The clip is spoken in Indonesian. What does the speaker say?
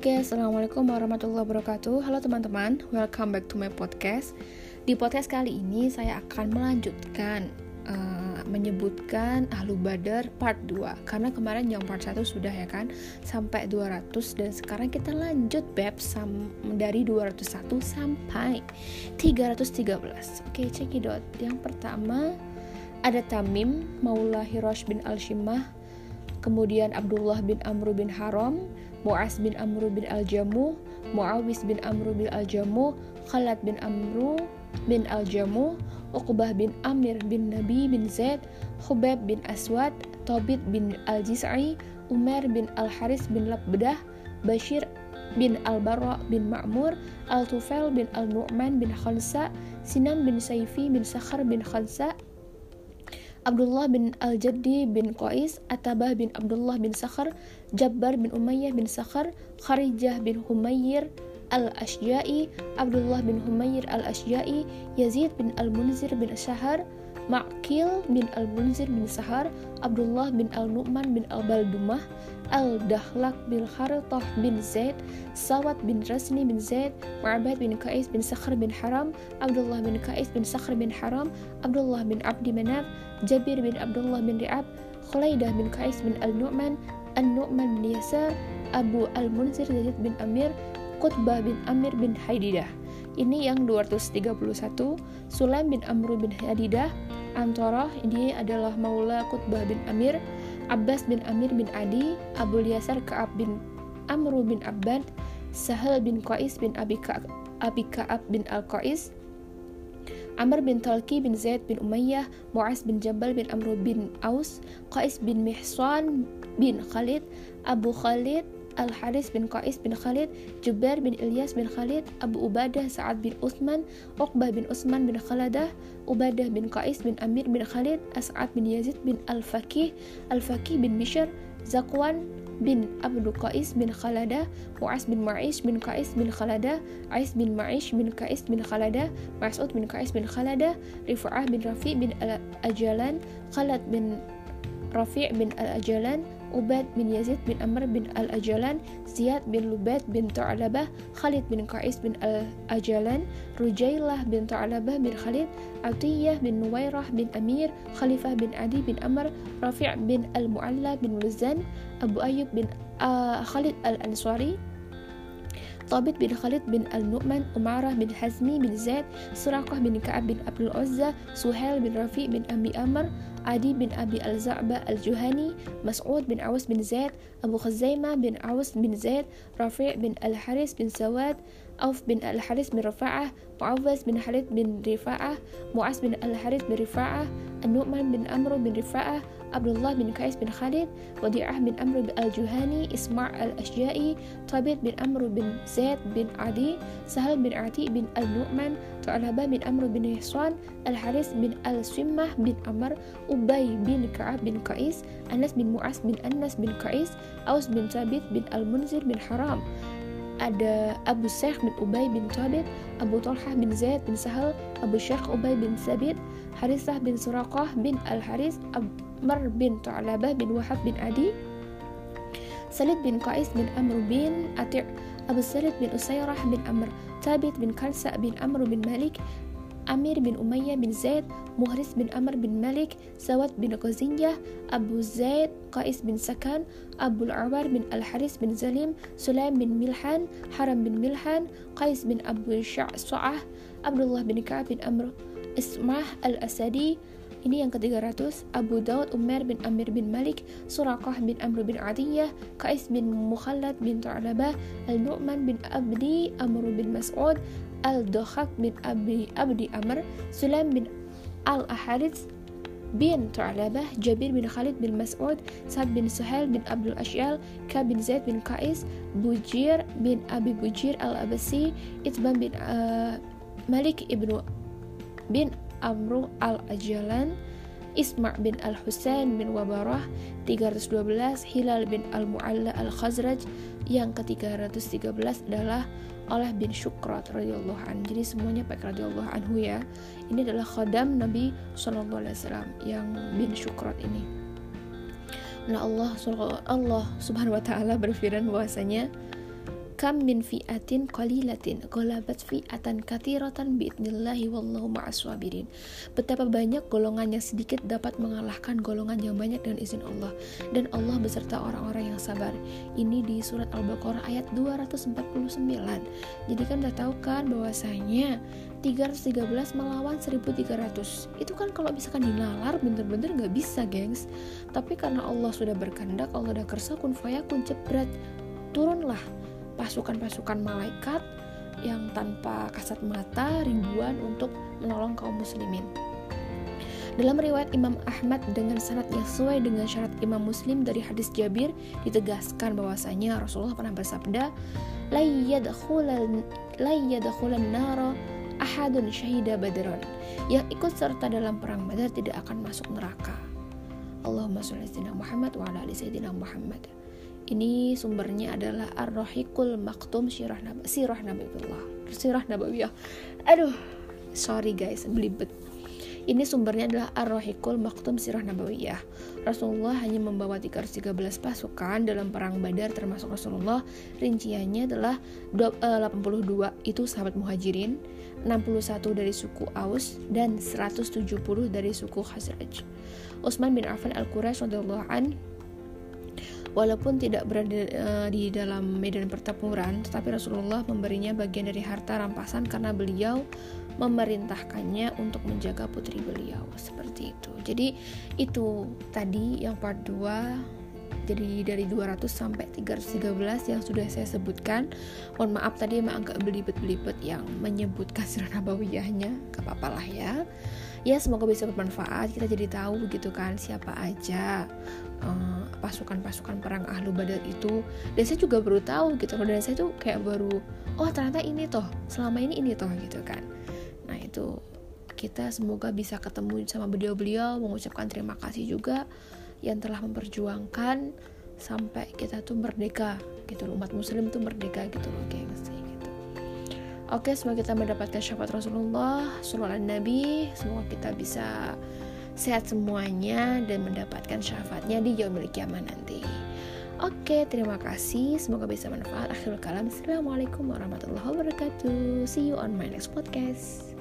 Oke, Assalamualaikum warahmatullahi wabarakatuh. Halo teman-teman, welcome back to my podcast. Di podcast kali ini saya akan melanjutkan menyebutkan Ahlu Badar part 2. Karena kemarin yang part 1 sudah ya kan, sampai 200. Dan sekarang kita lanjut dari 201 sampai 313. Oke, cekidot. Yang pertama ada Tamim Maula Hirash bin Al-Shimmah, kemudian Abdullah bin Amr bin Haram, Mu'az bin Amr bin Al-Jamuh, Mu'awis bin Amr bin Al-Jamuh, Khalad bin Amr bin Al-Jamuh, Uqbah bin Amir bin Nabi bin Zaid, Khubayb bin Aswad, Thabit bin Al-Jis'i, Umar bin Al-Haris bin Labdah, Bashir bin Al-Barra bin Ma'mur, Al-Tufail bin Al-Nu'man bin Khansa, Sinan bin Saifi bin Sakhar bin Khansa, Abdullah bin Al-Jaddi bin Qais, Atabah bin Abdullah bin Sakhar, Jabbar bin Umayyah bin Sakhar, Kharijah bin Humayyir Al-Ashja'i, Abdullah bin Humayyir Al-Ashja'i, Yazid bin Al-Munzir bin Shahar, Ma'qil bin Al-Munzir bin Sahar, Abdullah bin Al-Nu'man bin Al-Baldumah, Al-Dahlak bin Kharitah bin Zaid, Sawat bin Rasni bin Zaid, Mu'abad bin Qais bin Sakhar bin Haram, Abdullah bin Qais bin Sakhar bin Haram, Abdullah bin Abdi Manaf, Jabir bin Abdullah bin Ri'ab, Khulaidah bin Qais bin Al-Nu'man, An-Nu'man bin Yasar, Abu Al-Munzir Yazid bin Amir, Qutbah bin Amir bin Haididah. Ini yang 231. Sulaim bin Amr bin Hadidah Antarah, ini adalah Maula Qutbah bin Amir. Abbas bin Amir bin Adi, Abu Yasar Ka'ab bin Amr bin Abbad, Sahal bin Qais bin Abi Ka'ab bin Al-Qais, Amr bin Talqi bin Zaid bin Umayyah, Mu'az bin Jabal bin Amr bin Aus, Qais bin Mihsan bin Khalid, Abu Khalid Al-Haris bin Qais bin Khalid, Jubair bin Ilyas bin Khalid, Abu Ubadah Sa'ad bin Uthman, Uqbah bin Utsman bin Khaladah, Ubadah bin Qais bin Amir bin Khalid, As'ad bin Yazid bin Al-Faqih bin Bishr, Zakwan bin Abdu Qais bin Khaladah, Mu'az bin Ma'ish bin Qais bin Khaladah, Ais bin Ma'ish bin Qais bin Khaladah, Mas'ud bin Qais bin Khaladah, Rifa'ah bin Rafi' bin Al-Ajalan, Khalad bin Rafi' bin Al-Ajalan, Ubad bin Yazid bin Amr bin Al-Ajalan, Ziyad bin Lubat bin Ta'labah, Khalid bin Qais bin Al-Ajalan, Rujailah bin Ta'labah bin Khalid, Atiyah bin Nuwairah bin Amir, Khalifah bin Adi bin Amr, Rafi' bin Al-Mu'alla bin Luzan, Abu Ayyub bin Khalid Al-Ansari, Thabit bin Khalid bin Al-Nu'man, Umarah bin Hazmi bin Zaid, Suraqah bin Ka'ab bin Abdul Uzza, Suhail bin Rafi' bin Abi Amr, Adi bin Abi Al-Za'ba Al-Juhani, Mas'ud bin Aus bin Zaid, Abu Khuzaimah bin Aus bin Zaid, Rafi' bin Al-Haris bin Sawad, Auf bin Al-Haris bin Rifa'ah, Mu'awaz bin Khalid bin Rifa'ah, Mu'az bin Al-Haris bin Rifa'ah, An-Nu'man bin Amr bin Rifa'ah, Abdullah bin Qais bin Khalid, Wadi'ah bin Amr bin Al-Juhani, Isma' Al-Ashja'i, Thabit bin Amr bin Zaid bin Adi, Sahal bin Ati bin Al-Nu'man, Tu'alaba bin Amr bin Ihsan, Al-Haris bin Al-Swimmah bin Amr, Ubay bin Ka'ab bin Qais, Anas bin Mu'az bin Anas bin Qais, Aus bin Thabit bin Al-Munzir bin Haram. Ada Abu Syekh bin Ubay bin Thabit, Abu Talhah bin Zaid bin Sahal, Abu Syekh Ubay bin Sabit, Harisah bin Suraqah bin Al-Haris, Amr bin Tu'alabah bin Wahab bin Adi, Salid bin Qais bin Amr bin Ati', Abu Salid bin Usairah bin Amr, Thabit bin Kansa bin Amr bin Malik, Amir bin Umayyah bin Zaid, Muhris bin Amr bin Malik, Sawad bin Qaziyah, Abu Zaid, Qais bin Sakan, Abu Al-Awar bin Al-Haris bin Zalim, Sulaim bin Milhan, Haram bin Milhan, Qais bin Abu Sya'sa'ah, Abdullah bin Ka'ab bin Amr, Ismah Al-Asadi. Ini yang ke-300. Abu Daud Umar bin Amir bin Malik, Suraqah bin Amr bin Adiyah, Qais bin Mukhallad bin Tu'alabah, Al-Nu'man bin Abdi Amr bin Mas'ud, Al-Dakhak bin Abdi Amr, Sulaim bin Al-Aharits bin Tu'alabah, Jabir bin Khalid bin Mas'ud, Sa'ad bin Suhail bin Abdul Ash'al, Ka bin Zaid bin Qais, Bujir bin Abi Bujir Al-Abasi, Itban bin Malik ibnu bin Amru Al-Ajalan, Isma' bin Al-Husain bin Wabarah. 312 Hilal bin Al-Mu'alla Al-Khazraj. Yang ke-313 adalah Olah bin Syukrat radhiyallahu anhu. Jadi semuanya pakai radhiyallahu anhu ya. Ini adalah khadam Nabi sallallahu alaihi wasallam yang bin Syukrat ini. Nah, Allah Subhanahu wa taala berfirman bahwasanya Kam min fi'atin qalilatin ghalabat fi'atan katsiratan biidnillahi wallahu ma'as sabirin. Betapa banyak golongan yang sedikit dapat mengalahkan golongan yang banyak dengan izin Allah, dan Allah beserta orang-orang yang sabar. Ini di surat Al-Baqarah ayat 249. Jadi kan udah tahu kan bahwasanya 313 melawan 1300. Itu kan kalau misalkan dinalar bener-bener gak bisa, gengs. Tapi karena Allah sudah berkehendak, Allah udah kersa kun fayakun, jebret, turunlah pasukan-pasukan malaikat yang tanpa kasat mata ribuan untuk menolong kaum muslimin. Dalam riwayat Imam Ahmad dengan sanad yang sesuai dengan syarat Imam Muslim dari hadis Jabir, ditegaskan bahwasanya Rasulullah pernah bersabda, la yadkhulan nara ahadun syahida badran. Yang ikut serta dalam perang Badar tidak akan masuk neraka. Allahumma sholli ala sayyidina Muhammad wa ala ali sayyidina Muhammad. Ini sumbernya adalah Ar-Rahiqul Maktum Sirah Nabawiyah. Aduh, sorry guys, belibet. Ini sumbernya adalah Ar-Rahiqul Maktum Sirah Nabawiyah. Rasulullah hanya membawa 313 pasukan dalam perang Badar, termasuk Rasulullah. Rinciannya adalah 82 itu sahabat Muhajirin, 61 dari suku Aus, dan 170 dari suku Khazraj. Utsman bin Affan Al-Quraisy radhiyallahu anhu walaupun tidak berada di dalam medan pertempuran, tetapi Rasulullah memberinya bagian dari harta rampasan karena beliau memerintahkannya untuk menjaga putri beliau, seperti itu. Jadi itu tadi yang part 2. Jadi dari 200 sampai 313 yang sudah saya sebutkan. Mohon maaf tadi emang agak belibet-belibet yang menyebutkan sirah nabawiyahnya, gak apa-apa lah ya. Ya semoga bisa bermanfaat, kita jadi tahu gitu kan siapa aja pasukan-pasukan perang Ahlu Badar itu. Dan saya juga baru tahu gitu, dan saya tuh kayak baru, oh ternyata ini toh, selama ini toh gitu kan. Nah itu kita semoga bisa ketemu sama beliau-beliau, mengucapkan terima kasih juga yang telah memperjuangkan sampai kita tuh merdeka gitu, umat muslim tuh merdeka gitu loh gengs. Oke, semoga kita mendapatkan syafaat Rasulullah sallallahu alaihi Nabi. Semoga kita bisa sehat semuanya dan mendapatkan syafaatnya di yaumil qiyamah nanti. Oke, terima kasih. Semoga bisa manfaat. Akhirul kalam. Assalamualaikum warahmatullahi wabarakatuh. See you on my next podcast.